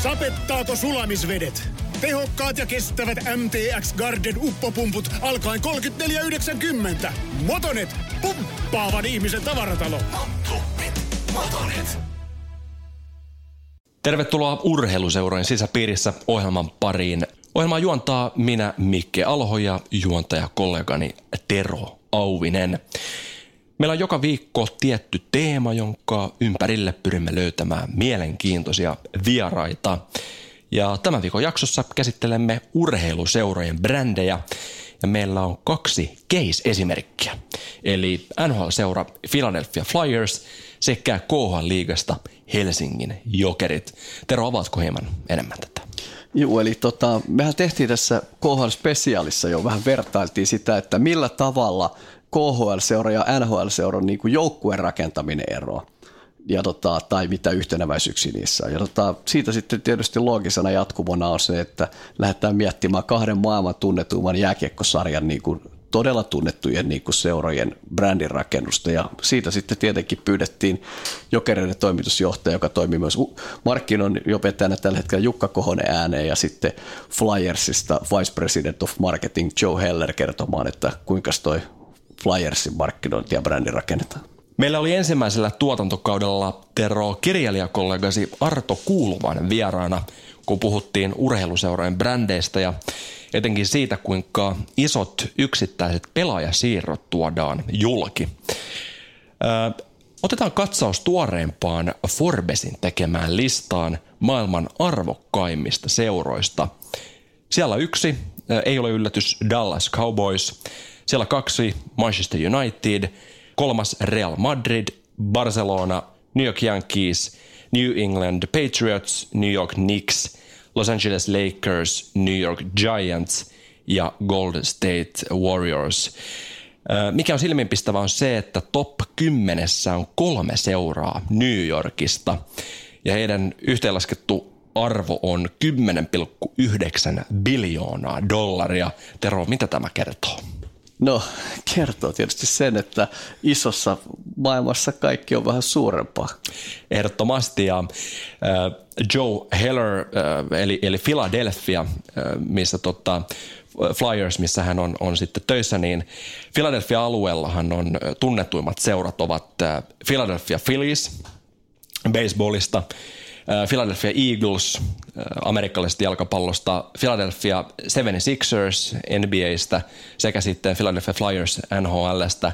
Sapettaako sulamisvedet? Tehokkaat ja kestävät MTX Garden uppopumput alkaen 34,90. Motonet, pumppaavan ihmisen tavaratalo. Motonet. Tervetuloa Urheiluseurojen sisäpiirissä ohjelman pariin. Ohjelmaa juontaa minä, Mikke Alho, ja juontajakollegani Tero Auvinen. Meillä on joka viikko tietty teema, jonka ympärille pyrimme löytämään mielenkiintoisia vieraita. Ja tämän viikon jaksossa käsittelemme urheiluseurojen brändejä, ja meillä on 2 case-esimerkkiä. Eli NHL-seura Philadelphia Flyers sekä KHL-liigasta Helsingin Jokerit. Tero, avaatko hieman enemmän tätä? Joo, eli mehän tehtiin tässä KHL-spesiaalissa jo vähän vertailtiin sitä, että millä tavalla KHL-seura ja NHL-seuran niin kuin joukkueen rakentaminen eroaa. Ja tai mitä yhtenäväisyyksiä niissä on. Ja siitä sitten tietysti loogisena jatkumona on se, että lähdetään miettimään 2 maailman tunnetuimman jääkiekkosarjan niin kuin todella tunnettujen niin kuin seurojen brändin rakennusta. Ja siitä sitten tietenkin pyydettiin Jokereiden toimitusjohtaja, joka toimii myös markkinointijohtajana tällä hetkellä Jukka Kohonen ääneen, ja sitten Flyersista Vice President of Marketing Joe Heller kertomaan, että kuinka toi Flyersin markkinointi ja brändin rakennetaan. Meillä oli ensimmäisellä tuotantokaudella, Tero, kirjailijakollegasi Arto Kuuluvainen vieraana, kun puhuttiin urheiluseurojen brändeistä ja etenkin siitä, kuinka isot yksittäiset pelaajasiirrot tuodaan julki. Otetaan katsaus tuoreempaan Forbesin tekemään listaan maailman arvokkaimmista seuroista. Siellä 1, ei ole yllätys, Dallas Cowboys. Siellä 2, Manchester United. 3, Real Madrid, Barcelona, New York Yankees, New England Patriots, New York Knicks, Los Angeles Lakers, New York Giants ja Golden State Warriors. Mikä on silmiinpistävää on se, että top 10 on 3 seuraa New Yorkista ja heidän yhteenlaskettu arvo on $10,9 biljoonaa. Tero, mitä tämä kertoo? No, kertoo tietysti sen, että isossa maailmassa kaikki on vähän suurempaa. Ehdottomasti, ja Joe Heller, eli Philadelphia, missä Flyers, missä hän on sitten töissä, niin Philadelphia-alueellahan on tunnetuimmat seurat ovat Philadelphia Phillies baseballista, Philadelphia Eagles amerikkalaisesta jalkapallosta, Philadelphia 76ers NBA:stä sekä sitten Philadelphia Flyers NHL:stä.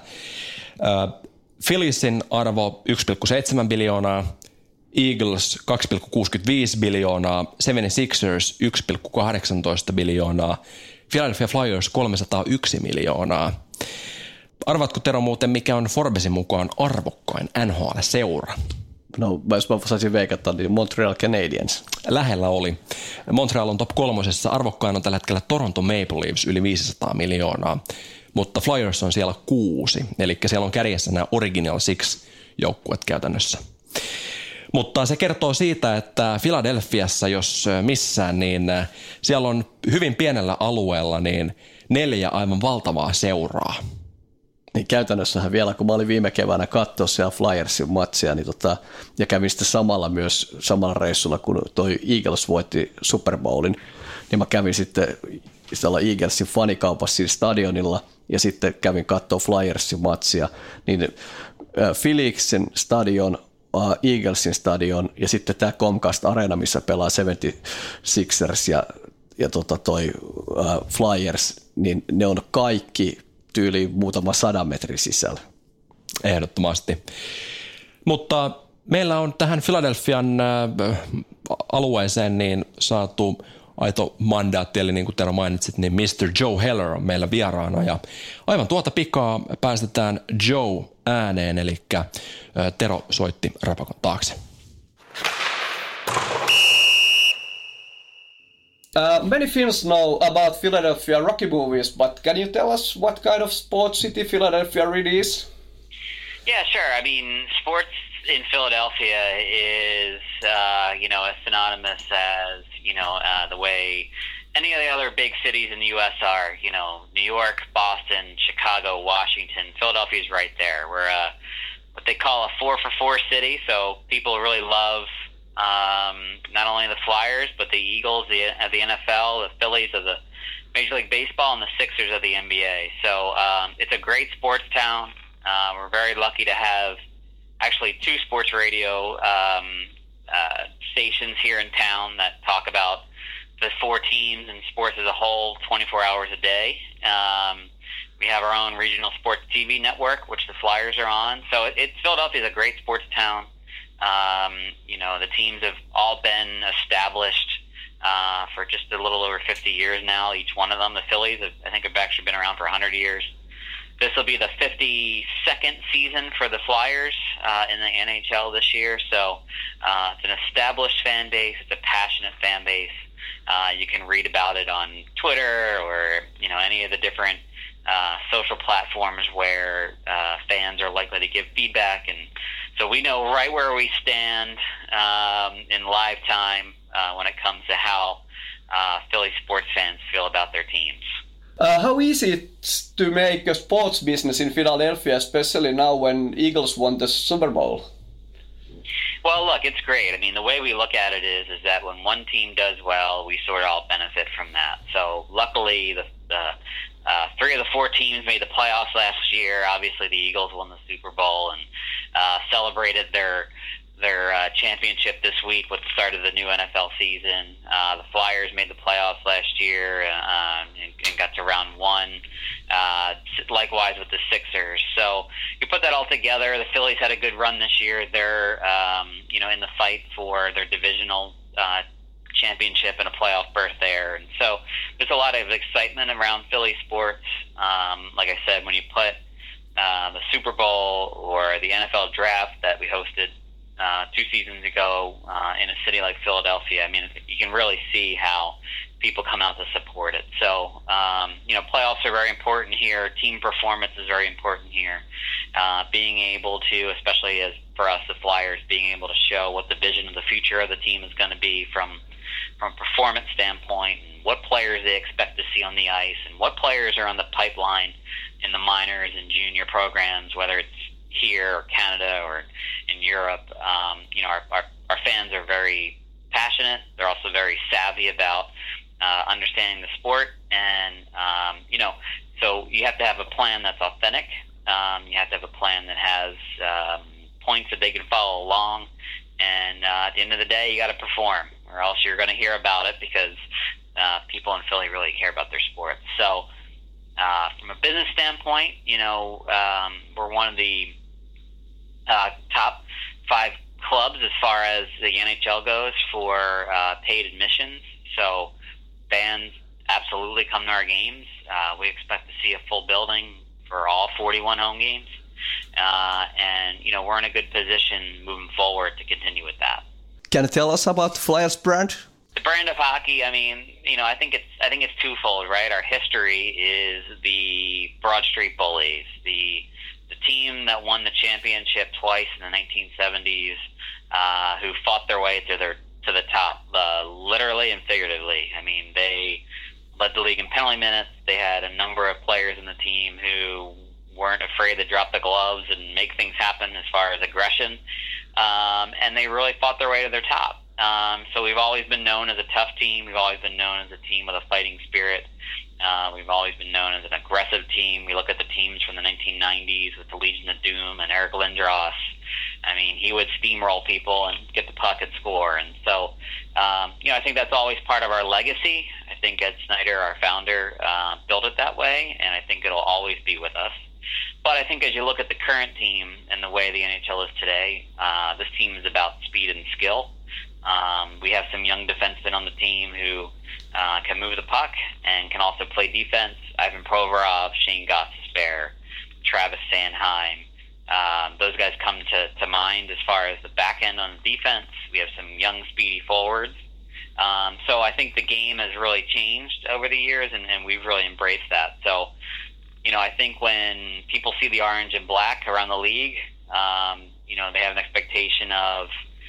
Philliesin arvo 1,7 biljoonaa, Eagles 2,65 biljoonaa, 76ers 1,18 biljoonaa, Philadelphia Flyers 301 miljoonaa. Arvaatko, Tero, muuten mikä on Forbesin mukaan arvokkain NHL-seura? No, jos mä saisin veikata, niin Montreal Canadiens. Lähellä oli. Montreal on top 3. Arvokkain on tällä hetkellä Toronto Maple Leafs yli 500 miljoonaa, mutta Flyers on siellä 6, eli siellä on kärjessä nämä Original Six joukkueet käytännössä. Mutta se kertoo siitä, että Philadelphiassa, jos missään, niin siellä on hyvin pienellä alueella niin 4 aivan valtavaa seuraa. Niin käytännössähän vielä, kun mä olin viime keväänä katsoa siellä Flyersin matsia, niin ja kävin sitten samalla reissulla, kun toi Eagles voitti Super Bowlin, niin mä kävin sitten Eaglesin fanikaupassa siinä stadionilla, ja sitten kävin katsoa Flyersin matsia, niin Philliesin stadion, Eaglesin stadion, ja sitten tämä Comcast Arena, missä pelaa 76ers ja toi Flyers, niin ne on kaikki tyyliin muutama 100 metrin sisällä. Ehdottomasti. Mutta meillä on tähän Philadelphian alueeseen niin saatu aito mandaatti, eli niin kuin Tero mainitsit, niin Mr. Joe Heller on meillä vieraana, ja aivan tuota pikaa päästetään Joe ääneen, eli Tero soitti rapakon taakse. Many Finns know about Philadelphia Rocky movies, but can you tell us what kind of sports city Philadelphia really is? Yeah, sure. I mean, sports in Philadelphia is, as synonymous as, the way any of the other big cities in the U.S. are. New York, Boston, Chicago, Washington. Philadelphia's right there. We're what they call a 4-for-4 city, so people really love not only the Flyers, but the Eagles of the NFL, the Phillies of the Major League Baseball, and the Sixers of the NBA. So it's a great sports town. We're very lucky to have actually 2 sports radio stations here in town that talk about the 4 teams and sports as a whole 24 hours a day. We have our own regional sports TV network, which the Flyers are on. So Philadelphia is a great sports town. The teams have all been established for just a little over 50 years now, each one of them. The Phillies, I think, have actually been around for 100 years. This will be the 52nd season for the Flyers in the NHL this year. So it's an established fan base. It's a passionate fan base. You can read about it on Twitter or any of the different social platforms where fans are likely to give feedback. And so we know right where we stand in live time when it comes to how Philly sports fans feel about their teams. How easy it's to make a sports business in Philadelphia, especially now when Eagles won the Super Bowl? Well, look, it's great. I mean, the way we look at it is that when one team does well, we sort of all benefit from that. So luckily, the 3 of the 4 teams made the playoffs last year. Obviously, the Eagles won the Super Bowl and celebrated their championship this week with the start of the new NFL season. The Flyers made the playoffs last year and got to round 1. Likewise with the Sixers. So you put that all together. The Phillies had a good run this year. They're in the fight for their divisional championship and a playoff berth there. And so there's a lot of excitement around Philly sports. Like I said, when you put the Super Bowl or the NFL draft that we hosted 2 seasons ago in a city like Philadelphia, I mean, you can really see how people come out to support it. So, playoffs are very important here. Team performance is very important here. Being able to, especially as for us, the Flyers, being able to show what the vision of the future of the team is going to be from a performance standpoint, and what players they expect to see on the ice, and what players are on the pipeline in the minors and junior programs, whether it's here or Canada or in Europe. Our fans are very passionate. They're also very savvy about understanding the sport, and so you have to have a plan that's authentic. You have to have a plan that has points that they can follow along, and at the end of the day, you got to perform, or else you're going to hear about it because people in Philly really care about their sport. So from a business standpoint, we're one of the top 5 clubs as far as the NHL goes for paid admissions. So fans absolutely come to our games. We expect to see a full building for all 41 home games. And we're in a good position moving forward to continue with that. Can you tell us about the Flyers brand? The brand of hockey, I mean, I think it's twofold, right? Our history is the Broad Street Bullies, the team that won the championship twice in the 1970s, who fought their way to the top, literally and figuratively. I mean, they led the league in penalty minutes. They had a number of players in the team who weren't afraid to drop the gloves and make things happen as far as aggression, and they really fought their way to their top. So we've always been known as a tough team. We've always been known as a team with a fighting spirit. We've always been known as an aggressive team. We look at the teams from the 1990s with the Legion of Doom and Eric Lindros. I mean, he would steamroll people and get the puck and score. And so, I think that's always part of our legacy. I think Ed Snyder, our founder, built it that way, and I think it'll always be with us. But I think as you look at the current team and the way the NHL is today, this team is about speed and skill. We have some young defensemen on the team who can move the puck and can also play defense. Ivan Provorov, Shane Gostisbehere, Travis Sanheim. Those guys come to mind as far as the back end on defense. We have some young, speedy forwards. So I think the game has really changed over the years, and we've really embraced that. So, I think when people see the orange and black around the league, they have an expectation of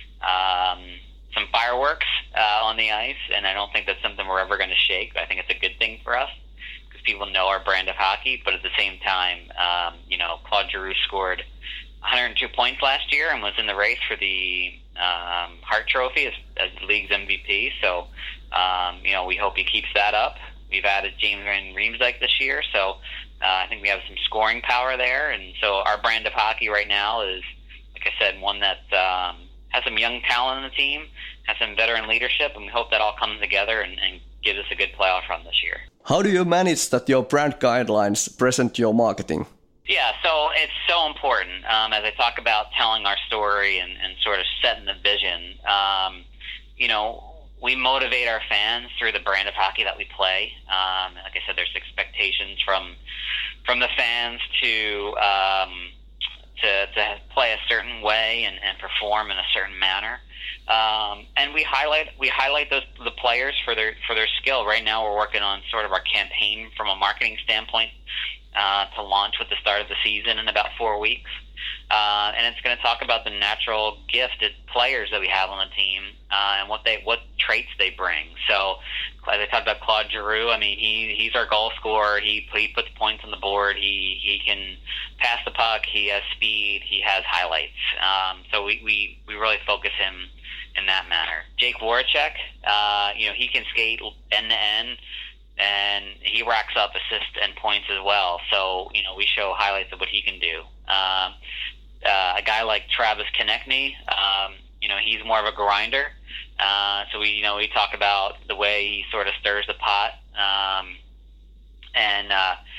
some fireworks on the ice, and I don't think that's something we're ever going to shake. I think it's a good thing for us because people know our brand of hockey, but at the same time, Claude Giroux scored 102 points last year and was in the race for the Hart Trophy as the league's MVP. So, we hope he keeps that up. We've added James Van Riemsdyk this year, so I think we have some scoring power there. And so our brand of hockey right now is, like I said, one that has some young talent in the team, has some veteran leadership, and we hope that all comes together and gives us a good playoff run this year. How do you manage that your brand guidelines present your marketing? Yeah, so it's so important as I talk about telling our story and sort of setting the vision. We motivate our fans through the brand of hockey that we play. Like I said, there's expectations from the fans to play a certain way and perform in a certain manner. And we highlight the players for their skill. Right now, we're working on sort of our campaign from a marketing standpoint to launch with the start of the season in about 4 weeks. And it's going to talk about the natural gifted players that we have on the team and what traits they bring. So, as I talked about Claude Giroux, I mean, he's our goal scorer. He puts points on the board. He can pass the puck. He has speed. He has highlights. So we really focus him in that manner. Jake Voracek, he can skate end to end, and he racks up assists and points as well. So, we show highlights of what he can do. A guy like Travis Konechny, he's more of a grinder. So we talk about the way he sort of stirs the pot, and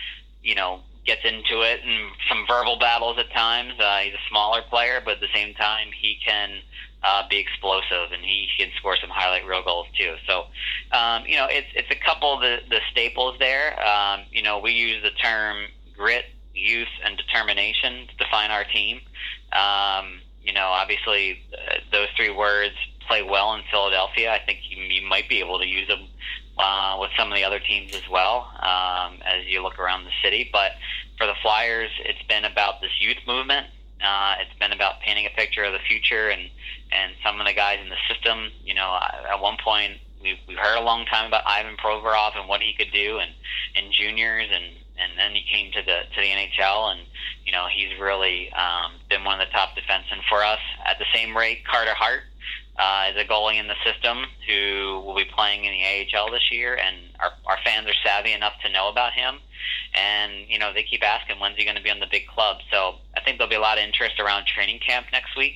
gets into it and some verbal battles at times. He's a smaller player, but at the same time, he can be explosive, and he can score some highlight reel goals too. So, it's a couple of the staples there. We use the term grit, youth, and determination to define our team. Obviously, those three words play well in Philadelphia. I think you might be able to use them with some of the other teams as well as you look around the city. But for the Flyers, it's been about this youth movement. It's been about painting a picture of the future and some of the guys in the system. At one point, we've heard a long time about Ivan Provorov and what he could do in juniors, and then he came to the NHL, and he's really been one of the top defensemen for us. At the same rate, Carter Hart is a goalie in the system who will be playing in the AHL this year, and our fans are savvy enough to know about him. And, they keep asking, when's he going to be on the big club? So I think there'll be a lot of interest around training camp next week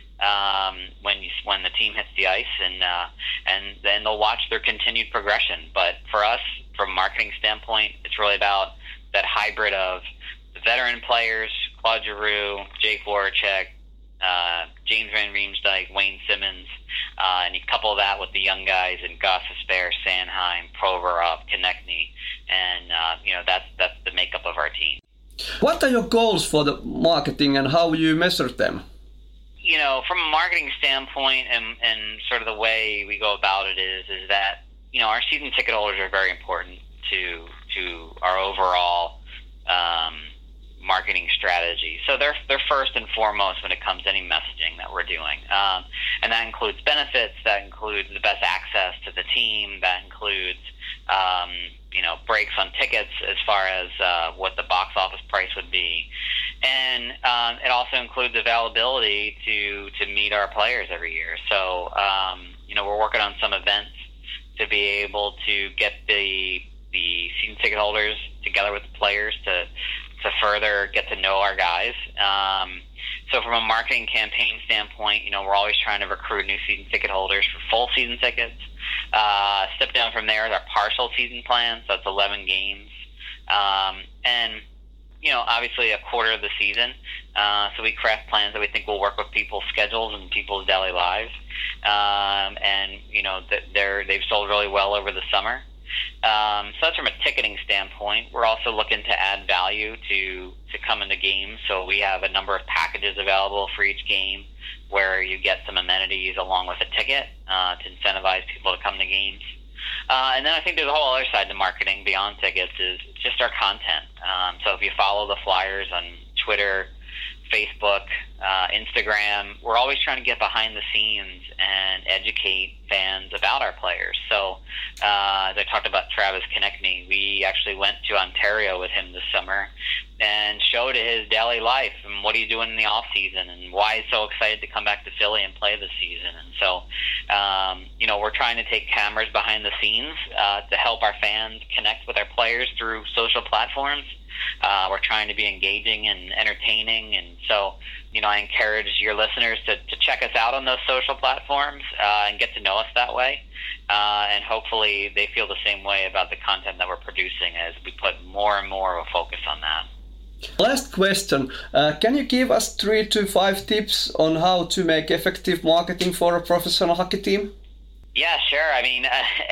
when the team hits the ice, and then they'll watch their continued progression. But for us, from a marketing standpoint, it's really about that hybrid of the veteran players, Claude Giroux, Jake Voracek, James Van Riemsdyk, Wayne Simmons, and you couple that with the young guys in Gostisbehere, Sanheim, Provorov, Konechny, and that's the makeup of our team. What are your goals for the marketing, and how will you measure them? From a marketing standpoint and sort of the way we go about it is that our season ticket holders are very important to our overall marketing strategy. So they're first and foremost when it comes to any messaging that we're doing. And that includes benefits, that includes the best access to the team, that includes, breaks on tickets as far as what the box office price would be. And it also includes availability to meet our players every year. So, we're working on some events to be able to get the season ticket holders together with the players to further get to know our guys. So from a marketing campaign standpoint, we're always trying to recruit new season ticket holders for full season tickets. Step down from there is our partial season plan, so it's 11 games. And, obviously a quarter of the season. So we craft plans that we think will work with people's schedules and people's daily lives. And, they've sold really well over the summer. So that's from a ticketing standpoint. We're also looking to add value to come into games. So we have a number of packages available for each game where you get some amenities along with a ticket to incentivize people to come to games. And then I think there's a whole other side to marketing beyond tickets is just our content. So if you follow the Flyers on Twitter, Facebook, Instagram, we're always trying to get behind the scenes and educate fans about our players. So as I talked about Travis Konechny, we actually went to Ontario with him this summer and showed his daily life and what he's doing in the off season and why he's so excited to come back to Philly and play this season. And so, we're trying to take cameras behind the scenes to help our fans connect with our players through social platforms. We're trying to be engaging and entertaining, and so I encourage your listeners to check us out on those social platforms and get to know us that way, and hopefully they feel the same way about the content that we're producing as we put more and more of a focus on that. Last question. Can you give us 3 to 5 tips on how to make effective marketing for a professional hockey team? Yeah, sure. I mean,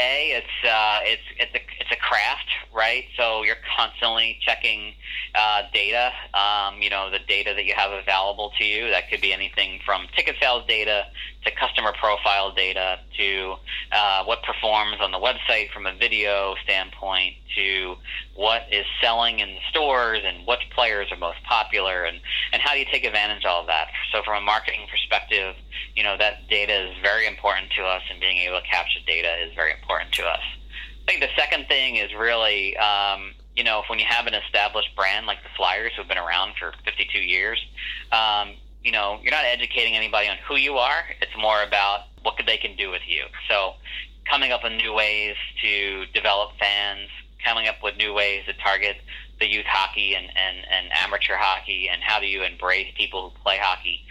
it's a craft, right? So you're constantly checking data. The data that you have available to you. That could be anything from ticket sales data to customer profile data to what performs on the website from a video standpoint to what is selling in the stores and which players are most popular and how do you take advantage of all of that. So from a marketing perspective, that data is very important to us, and being able to capture data is very important to us. I think the second thing is really, when you have an established brand like the Flyers, who've been around for 52 years, you're not educating anybody on who you are. It's more about what they can do with you. So coming up with new ways to develop fans, coming up with new ways to target the youth hockey and amateur hockey, and how do you embrace people who play hockey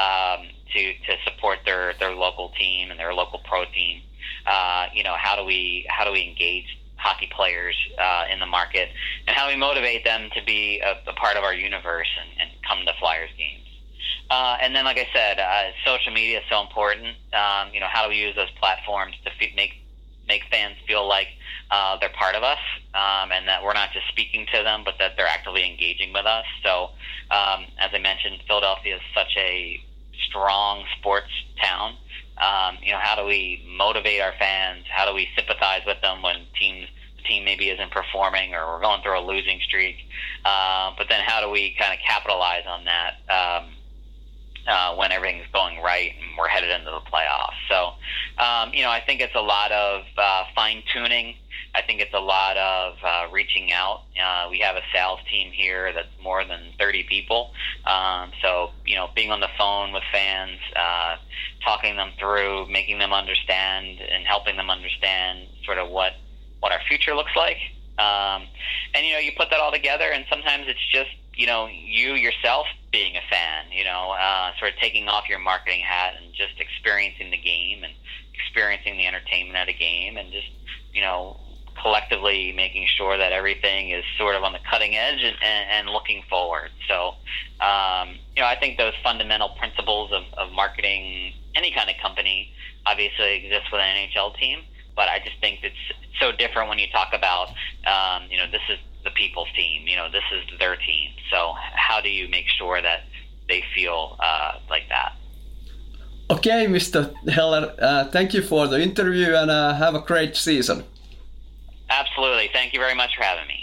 to support their local team and their local pro team. How do we engage hockey players in the market, and how do we motivate them to be a part of our universe and come to Flyers games. And then, like I said, social media is so important. How do we use those platforms to make fans feel like they're part of us, and that we're not just speaking to them, but that they're actively engaging with us. So, as I mentioned, Philadelphia is such a strong sports town. How do we motivate our fans? How do we sympathize with them when the team maybe isn't performing or we're going through a losing streak? But then how do we kind of capitalize on that when everything's going right and we're headed into the playoffs? So, I think it's a lot of fine-tuning. I think it's a lot of reaching out. We have a sales team here that's more than 30 people. So, being on the phone with fans, talking them through, making them understand and helping them understand sort of what our future looks like. And, you put that all together, and sometimes it's just, you yourself being a fan, sort of taking off your marketing hat and just experiencing the game and experiencing the entertainment at a game, and just, collectively making sure that everything is sort of on the cutting edge and looking forward. So, I think those fundamental principles of marketing any kind of company obviously exist with an NHL team, but I just think it's so different when you talk about, this is the people's team, this is their team. So how do you make sure that they feel like that? Okay, Mr. Heller, thank you for the interview, and have a great season. Absolutely. Thank you very much for having me.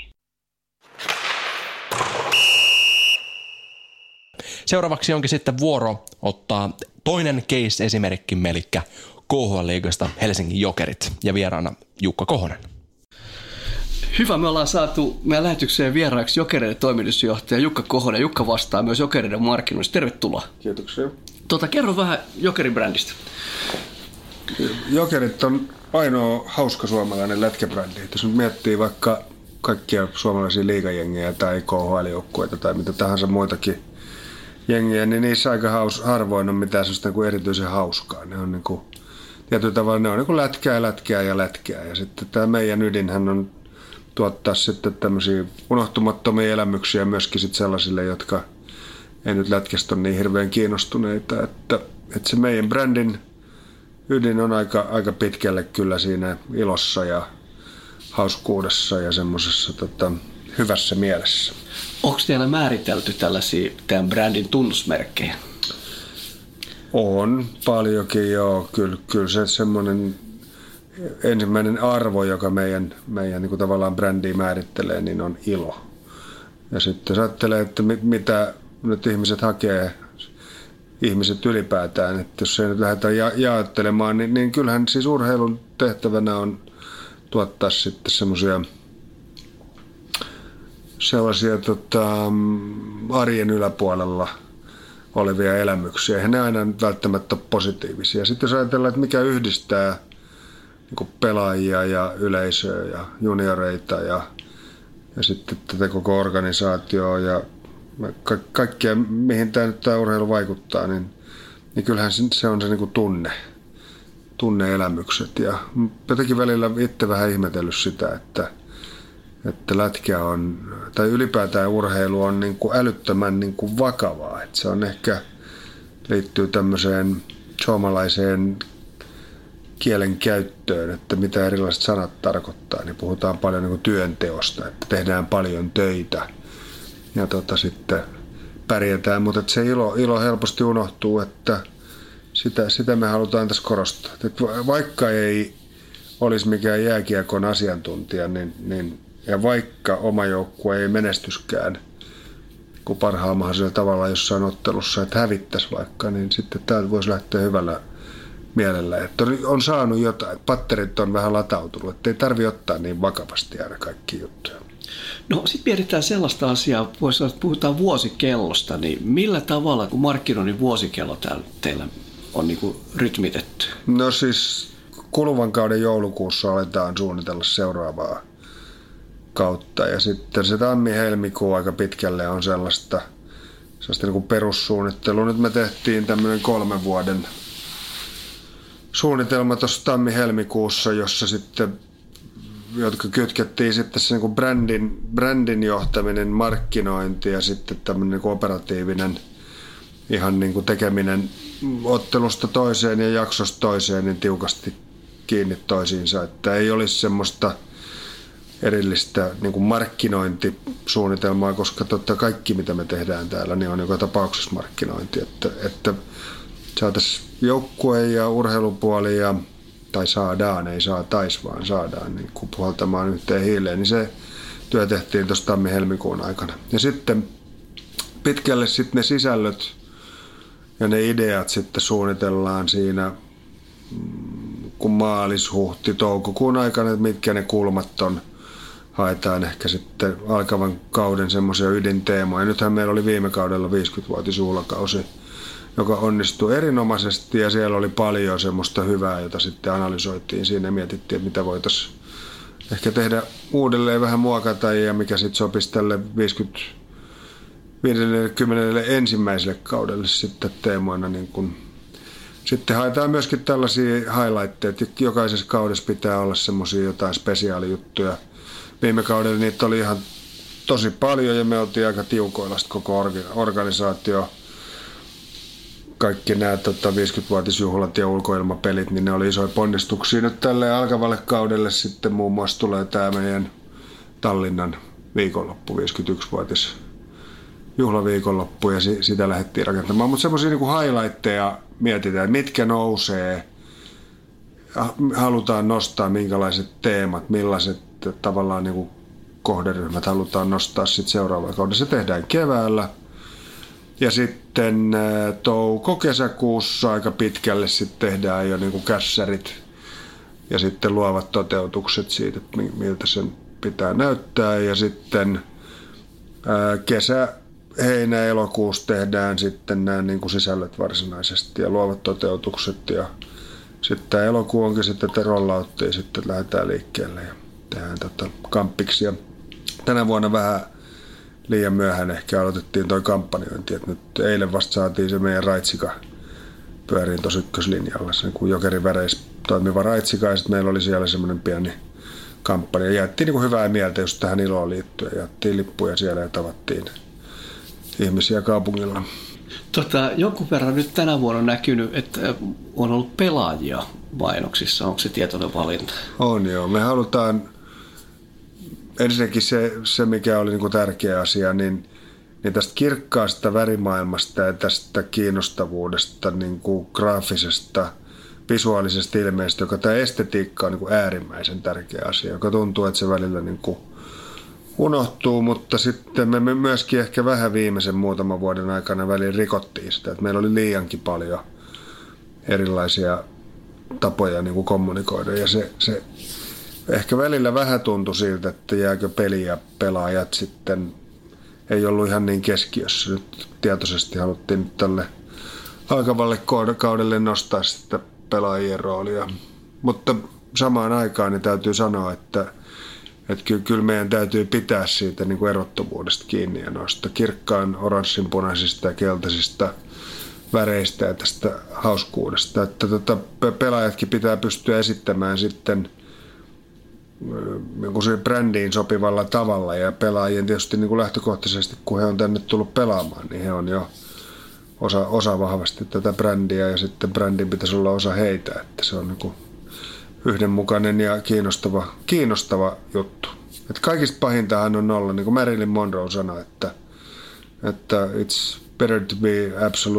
Seuraavaksi onkin sitten vuoro ottaa toinen case-esimerkkimme, eli KHL-liigasta Helsingin Jokerit, ja vieraana Jukka Kohonen. Hyvä, me ollaan saatu meidän lähetykseen vieraaksi Jokereiden toimitusjohtaja Jukka Kohonen. Jukka vastaa myös Jokereiden markkinoista. Tervetuloa. Kiitoksia. Kerro vähän Jokerin-brändistä. Jokerit on ainoa hauska suomalainen lätkäbrändi. Jos nyt miettii vaikka kaikkia suomalaisia liigajengejä tai KHL-joukkueita tai mitä tahansa muitakin jengiä, niin niissä aika harvoin on mitään sellaista kuin erityisen hauskaa. Ne on niin kuin, tietyllä tavalla ne on niin kuin lätkää. Ja sitten tämä meidän ydinhän on tuottaa sitten tämmöisiä unohtumattomia elämyksiä myöskin sitten sellaisille, jotka ei nyt lätkästä ole niin hirveän kiinnostuneita. Että se meidän brändin ydin on aika pitkälle kyllä siinä ilossa ja hauskuudessa ja semmoisessa hyvässä mielessä. Onko teillä määritelty tällaisia teidän brändin tunnusmerkkejä? On paljonkin, joo. Kyllä se semmoinen ensimmäinen arvo, joka meidän niin kuin tavallaan brändiä määrittelee, niin on ilo. Ja sitten jos ajattelee, että mitä nyt ihmiset hakee, ihmiset ylipäätään, että jos ei nyt lähdetään jaottelemaan, niin kyllähän siis urheilun tehtävänä on tuottaa sitten sellaisia arjen yläpuolella olevia elämyksiä. Eihän ne aina välttämättä ole positiivisia. Sitten jos ajatellaan, että mikä yhdistää niin pelaajia ja yleisöä ja junioreita ja sitten tätä koko organisaatioa ja kaikkea, mihin tämä urheilu vaikuttaa, niin kyllähän se on se niin kuin tunne-elämykset. Ja jotenkin välillä itse vähän ihmetellyt sitä, että lätkä on, tai ylipäätään urheilu on niin kuin älyttömän niin kuin vakavaa. Että se on ehkä, liittyy tämmöiseen suomalaiseen kielen käyttöön, että mitä erilaiset sanat tarkoittaa. Niin puhutaan paljon niin kuin työnteosta, että tehdään paljon töitä ja sitten pärjätään. Mutta se ilo helposti unohtuu, että sitä me halutaan tässä korostaa. Että vaikka ei olisi mikään jääkiekon asiantuntija, niin ja vaikka oma joukkue ei menestyskään kuin parhaalla mahdollisella tavalla jossain ottelussa, että hävittäisi vaikka, niin sitten täältä voisi lähteä hyvällä mielellä. Että on saanut jotain, patterit on vähän latautunut, että ei tarvitse ottaa niin vakavasti aina kaikki juttuja. No sitten mietitään sellaista asiaa, voisi sanoa, että puhutaan vuosikellosta, niin millä tavalla, kun markkinoinnin vuosikello teillä on niin kuin rytmitetty? No siis kuluvan kauden joulukuussa aletaan suunnitella seuraavaa kautta. Ja sitten se tammi-helmikuu aika pitkälle on sellaista niin kuin perussuunnittelua. Nyt me tehtiin tämmöinen 3 vuoden suunnitelma tuossa tammi-helmikuussa, jossa sitten, jotka kytkettiin sitten se niin kuin brändin johtaminen, markkinointi ja sitten tämmöinen niin kuin operatiivinen ihan niin kuin tekeminen ottelusta toiseen ja jaksosta toiseen niin tiukasti kiinni toisiinsa, että ei olisi semmoista erillistä niin kuin markkinointisuunnitelmaa, koska kaikki mitä me tehdään täällä niin on joka tapauksessa markkinointi, että saataisiin joukkue ja urheilupuoli tai saadaan, ei saataisi vaan saadaan niin kuin puhaltamaan yhteen hiileen, niin se työ tehtiin tuossa tammi-helmikuun aikana. Ja sitten pitkälle sitten ne sisällöt ja ne ideat sitten suunnitellaan siinä kun huhti-toukokuun aikana, että mitkä ne kulmat on. Haetaan ehkä sitten alkavan kauden semmoisia ydinteemoja. Nythän meillä oli viime kaudella 50-vuotisjuhlakausi, joka onnistui erinomaisesti ja siellä oli paljon semmoista hyvää, jota sitten analysoitiin siinä ja mietittiin, että mitä voitaisiin ehkä uudelleen vähän muokata ja mikä sitten sopisi tälle 51. kaudelle sitten teemoina. Niin kun. Sitten haetaan myöskin tällaisia highlightteja, että jokaisessa kaudessa pitää olla semmoisia jotain spesiaalijuttuja. Viime kaudella niitä oli ihan tosi paljon ja me oltiin aika tiukoilla koko organisaatio. Kaikki nämä 50-vuotisjuhlat ja ulkoilmapelit, niin ne oli isoja ponnistuksia. Nyt tälle alkavalle kaudelle sitten muun muassa tulee tämä meidän Tallinnan viikonloppu, 51-vuotis juhlaviikonloppu ja sitä lähdettiin rakentamaan. Mutta semmoisia niin highlightteja mietitään, mitkä nousee, halutaan nostaa, minkälaiset teemat, millaiset tavallaan niin kuin kohderyhmät halutaan nostaa sitten seuraavalla kaudella. Se tehdään keväällä ja sitten touko-kesäkuussa aika pitkälle sitten tehdään jo niin kuin kässärit ja sitten luovat toteutukset siitä, miltä sen pitää näyttää ja sitten heinä-elokuussa tehdään sitten nämä niin kuin sisällöt varsinaisesti ja luovat toteutukset ja sitten tämä elokuu onkin sitten, että rollauttiin sitten lähdetään liikkeelle ja tehdään kamppiksi. Ja tänä vuonna vähän liian myöhään ehkä aloitettiin toi kampanjointi, että nyt eilen vasta saatiin se meidän raitsika pyöriin tuossa ykköslinjalla, se niin Jokerin väreissä toimiva raitsika ja sitten meillä oli siellä semmoinen pieni kampanja. Jaettiin niin kuin hyvää mieltä just tähän iloon liittyen, jaettiin lippuja siellä ja tavattiin ihmisiä kaupungilla. Jonkun verran nyt tänä vuonna on näkynyt, että on ollut pelaajia mainoksissa. Onko se tietoinen valinta? On joo. Me halutaan ensinnäkin se mikä oli niin kuin tärkeä asia, niin tästä kirkkaasta värimaailmasta ja tästä kiinnostavuudesta, niin kuin graafisesta, visuaalisesta ilmeestä, joka tämä estetiikka on niin kuin äärimmäisen tärkeä asia, joka tuntuu, että se välillä niin kuin unohtuu, mutta sitten me myöskin ehkä vähän viimeisen muutaman vuoden aikana väliin rikottiin sitä, että meillä oli liiankin paljon erilaisia tapoja niin kuin kommunikoida ja se ehkä välillä vähän tuntui siltä, että jääkö peli ja pelaajat sitten ei ollut ihan niin keskiössä. Nyt tietoisesti haluttiin tälle alkavalle kaudelle nostaa sitä pelaajien roolia. Mutta samaan aikaan niin täytyy sanoa, että kyllä meidän täytyy pitää siitä niin kuin erottomuudesta kiinni ja noista kirkkaan oranssinpunaisista ja keltaisista väreistä ja tästä hauskuudesta. Että pelaajatkin pitää pystyä esittämään sitten niin brändiin sopivalla tavalla ja pelaajien tietysti niin kuin lähtökohtaisesti, kun he on tänne tullut pelaamaan, niin he on jo osa vahvasti tätä brändiä ja sitten brändin pitäisi olla osa heitä, että se on niin kuin yhdenmukainen ja kiinnostava juttu. Että kaikista pahintahan on olla, niin kuin Marilyn Monroe sanoi, että it's better to be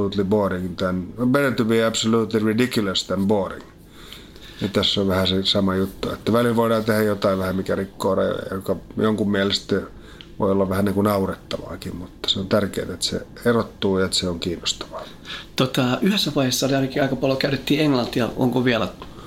absolutely ridiculous than boring. Ja tässä on vähän se sama juttu, että välillä voidaan tehdä jotain vähän, mikä rikkoo rajoja, joka jonkun mielestä voi olla vähän niin kuin naurettavaakin, mutta se on tärkeää, että se erottuu ja että se on kiinnostavaa. Yhdessä vaiheessa oli ainakin aika paljon käytettiin englantia, onko vielä?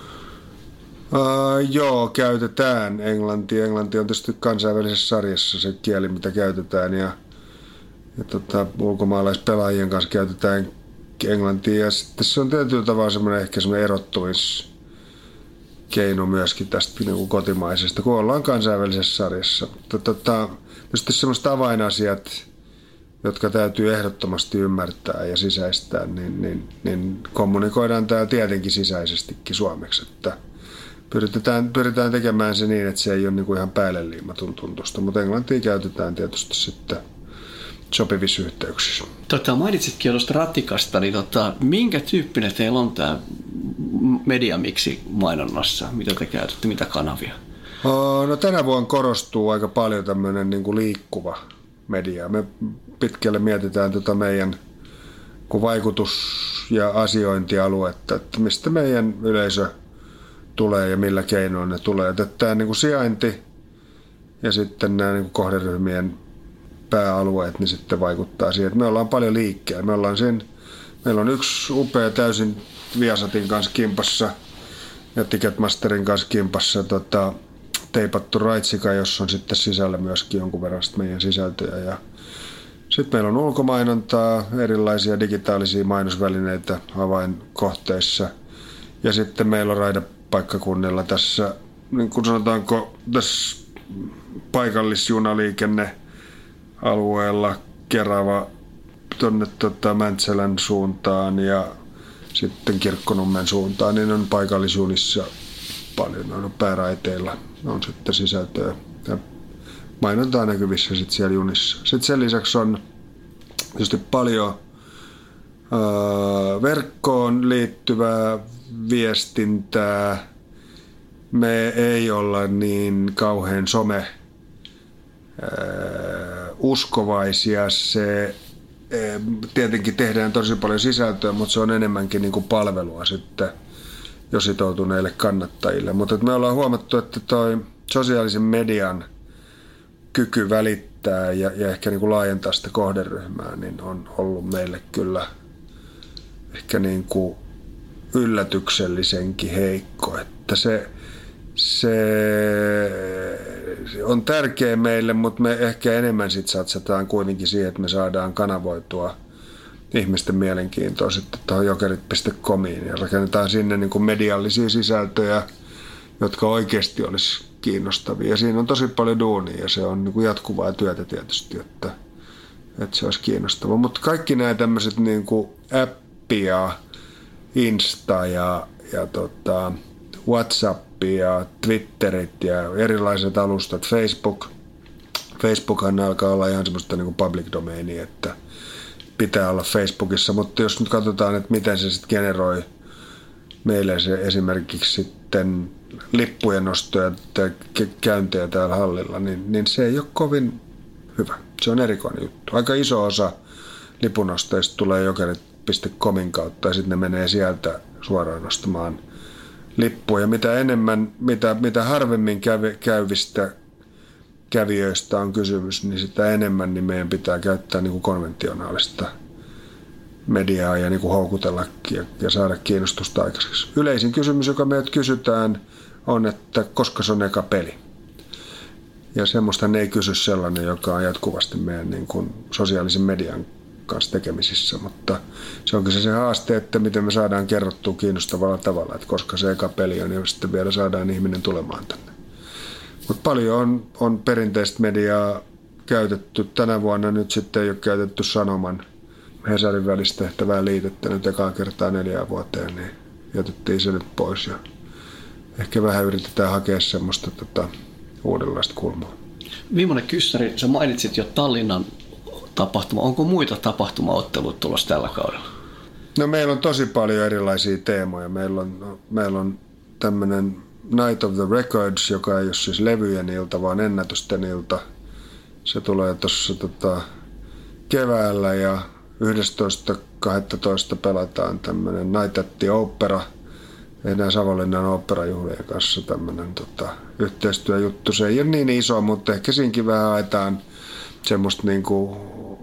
Joo, käytetään englantia. Englanti on tietysti kansainvälisessä sarjassa se kieli, mitä käytetään ja ulkomaalaispelaajien kanssa käytetään englantia ja sitten se on tietyllä tavalla semmoinen ehkä semmoinen erottumiskeino myöskin tästä niin kuin kotimaisesta, kun ollaan kansainvälisessä sarjassa. Tietysti semmoiset avainasiat, jotka täytyy ehdottomasti ymmärtää ja sisäistää, niin kommunikoidaan täällä tietenkin sisäisestikin suomeksi, että pyritään tekemään se niin, että se ei ole niin kuin ihan päälle liimatun tuntusta, mutta englantia käytetään tietysti sitten sopivissa yhteyksissä. Mainitsitkin jo tuosta ratikasta, niin minkä tyyppinen teillä on tämä mediamiksi mainonnassa? Mitä te käytätte, mitä kanavia? No tänä vuonna korostuu aika paljon tämmöinen niin kuin liikkuva media. Me pitkälle mietitään meidän vaikutus- ja asiointialuetta, että mistä meidän yleisö tulee ja millä keinoin ne tulee. Että tämä niin kuin sijainti ja sitten nämä niin kuin kohderyhmien pääalueet niin sitten vaikuttaa siihen, että me ollaan paljon liikkeellä. Meillä on yksi upea täysin Viasatin kanssa kimpassa ja Ticketmasterin kanssa kimpassa teipattu raitsika, jossa on sitten sisällä myöskin jonkun verran meidän sisältöjä. Ja sitten meillä on ulkomainontaa, erilaisia digitaalisia mainosvälineitä avainkohteissa. Ja sitten meillä on raidepaikkakunnilla tässä, niin kuin sanotaanko, tässä paikallisjunaliikennealueella Kerava tuonne Mäntsälän suuntaan ja sitten Kirkkonummen suuntaan, niin on paikallisjunissa paljon, on pääraiteilla on sitten sisältöä ja mainontaa näkyvissä sitten siellä junissa. Sitten sen lisäksi on tietysti paljon verkkoon liittyvää viestintää. Me ei olla niin kauhean uskovaisia. Se tietenkin tehdään tosi paljon sisältöä, mutta se on enemmänkin niin kuin palvelua sitten jo sitoutuneille kannattajille. Mutta me ollaan huomattu, että toi sosiaalisen median kyky välittää ja ehkä niin kuin laajentaa sitä kohderyhmää niin on ollut meille kyllä ehkä niin kuin yllätyksellisenkin heikko. Että se on tärkeä meille, mutta me ehkä enemmän sit satsataan kuitenkin siihen, että me saadaan kanavoitua ihmisten mielenkiintoa sitten tuohon jokerit.comiin ja rakennetaan sinne niin kuin mediallisia sisältöjä, jotka oikeasti olisi kiinnostavia. Ja siinä on tosi paljon duunia ja se on niin kuin jatkuvaa työtä tietysti, että se olisi kiinnostavaa. Mutta kaikki nämä tämmöiset niin kuin appi ja Insta ja WhatsApp ja Twitterit ja erilaiset alustat, Facebookhan alkaa olla ihan semmoista niin kuin public domainia, että pitää olla Facebookissa, mutta jos nyt katsotaan, että miten se sitten generoi meille se esimerkiksi sitten lippujen nostoja ja käyntejä täällä hallilla, niin se ei ole kovin hyvä. Se on erikoinen juttu. Aika iso osa lipunosteista tulee jokerit.comin kautta ja sitten ne menee sieltä suoraan nostamaan lippuja. Mitä harvemmin käyvistä kävijöistä on kysymys, niin sitä enemmän niin meidän pitää käyttää niin kuin konventionaalista mediaa ja niin kuin houkutella ja saada kiinnostusta aikaiseksi. Yleisin kysymys, joka meiltä kysytään, on, että koska se on eka peli. Ja semmoista ne ei kysy sellainen, joka on jatkuvasti meidän niin kuin sosiaalisen median kanssa tekemisissä, mutta se onkin se haaste, että miten me saadaan kerrottua kiinnostavalla tavalla, että koska se eka peli on, ja sitten vielä saadaan ihminen tulemaan tänne. Mutta paljon on perinteistä mediaa käytetty. Tänä vuonna nyt sitten ei ole käytetty Sanoman Hesarin välistä tehtävää liitettä nyt ekaa kertaa 4 vuoteen, niin jätettiin se nyt pois ja ehkä vähän yritetään hakea semmoista uudenlaista kulmaa. Viimeinen kyssäri, sä mainitsit jo Tallinnan tapahtuma. Onko muita tapahtumaotteluita tulossa tällä kaudella? No meillä on tosi paljon erilaisia teemoja. Meillä on tämmöinen Night of the Records, joka ei ole siis levyjen ilta, vaan ennätysten ilta. Se tulee tuossa keväällä ja 11.12. pelataan tämmöinen Night at the Opera. Tehdään Savonlinnan oopperajuhlien kanssa tämmöinen yhteistyöjuttu. Se ei ole niin iso, mutta ehkä siinkin vähän haetaan semmoista niinku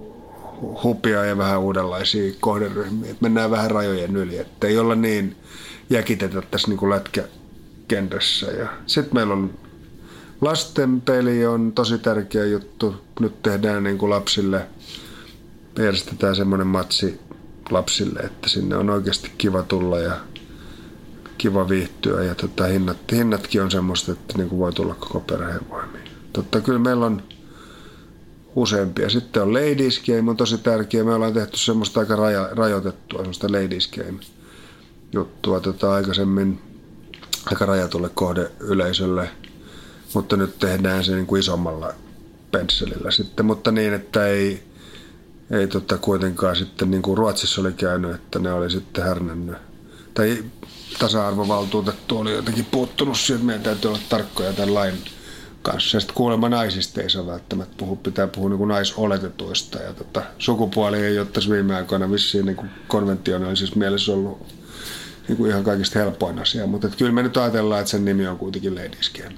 hupia ja vähän uudenlaisia kohderyhmiä. Mennään vähän rajojen yli, että ei olla niin jäkitetä tässä niinku lätkäkenressä. Sitten meillä on lastenpeli, on tosi tärkeä juttu. Nyt tehdään niinku lapsille, järjestetään semmoinen matsi lapsille, että sinne on oikeasti kiva tulla ja kiva viihtyä ja hinnatkin on semmoista, että niinku voi tulla koko perheen voimiin. Kyllä meillä on useampia. Sitten on Ladies Game, on tosi tärkeä. Me ollaan tehty semmoista aika rajoitettua, semmoista Ladies Game-juttua aikaisemmin aika rajatulle kohdeyleisölle, mutta nyt tehdään se niin kuin isommalla pensselillä sitten, mutta niin, että ei kuitenkaan sitten niin kuin Ruotsissa oli käynyt, että ne oli sitten härnännyt. Tai tasa-arvovaltuutettu oli jotenkin puuttunut siihen, että meidän täytyy olla tarkkoja tämän lain kanssa. Ja sitten kuulemma naisista ei saa välttämättä puhua, pitää puhua niin kuin naisoletetuista. Ja sukupuoli ei ole tässä viime aikoina vissiin niin kuin konventionaalisessa mielessä ollut niin kuin ihan kaikista helpoin asia. Mutta kyllä me nyt ajatellaan, että sen nimi on kuitenkin Ladies Game.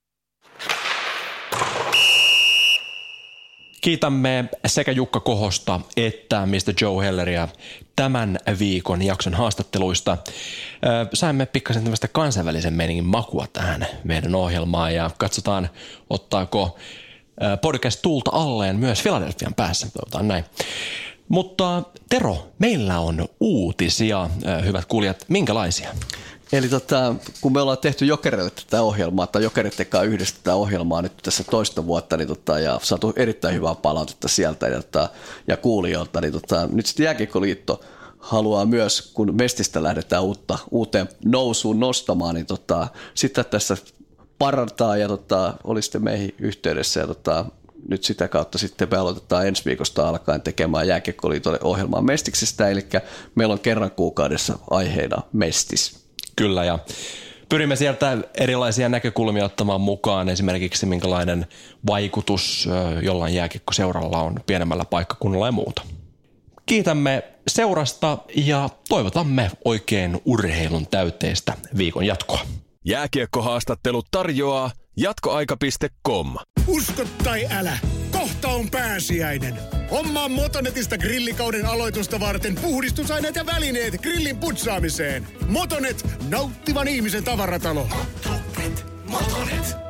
Kiitämme sekä Jukka Kohosta että Mr. Joe Helleriä tämän viikon jakson haastatteluista. Saimme pikkasen tämmöistä kansainvälisen meningin makua tähän meidän ohjelmaan ja katsotaan, ottaako podcast tulta alleen myös Philadelphian päässä. Toivotaan näin. Mutta Tero, meillä on uutisia, hyvät kuulijat. Minkälaisia? Eli kun me ollaan tehty Jokerille tätä ohjelmaa, tai Jokerit tekee yhdessä tätä ohjelmaa nyt tässä toista vuotta, niin ja saatu erittäin hyvää palautetta sieltä ja kuulijoilta, niin nyt sitten Jääkiekkoliitto haluaa myös, kun Mestistä lähdetään uuteen nousuun nostamaan, niin sitä tässä parantaa ja oli sitten meihin yhteydessä ja nyt sitä kautta sitten me aloitetaan ensi viikosta alkaen tekemään Jääkiekkoliitolle ohjelmaa Mestiksestä, eli meillä on kerran kuukaudessa aiheena Mestis. Kyllä, ja pyrimme sieltä erilaisia näkökulmia ottamaan mukaan, esimerkiksi minkälainen vaikutus jollain jääkiekkoseuralla on pienemmällä paikkakunnalla ja muuta. Kiitämme seurasta ja toivotamme oikein urheilun täyteistä viikon jatkoa. Jääkiekkohaastattelut tarjoaa jatkoaika.com. Usko tai älä, kohta on pääsiäinen. Hommaa Motonetista grillikauden aloitusta varten puhdistusaineet ja välineet grillin putsaamiseen. Motonet, nauttivan ihmisen tavaratalo. Motonet.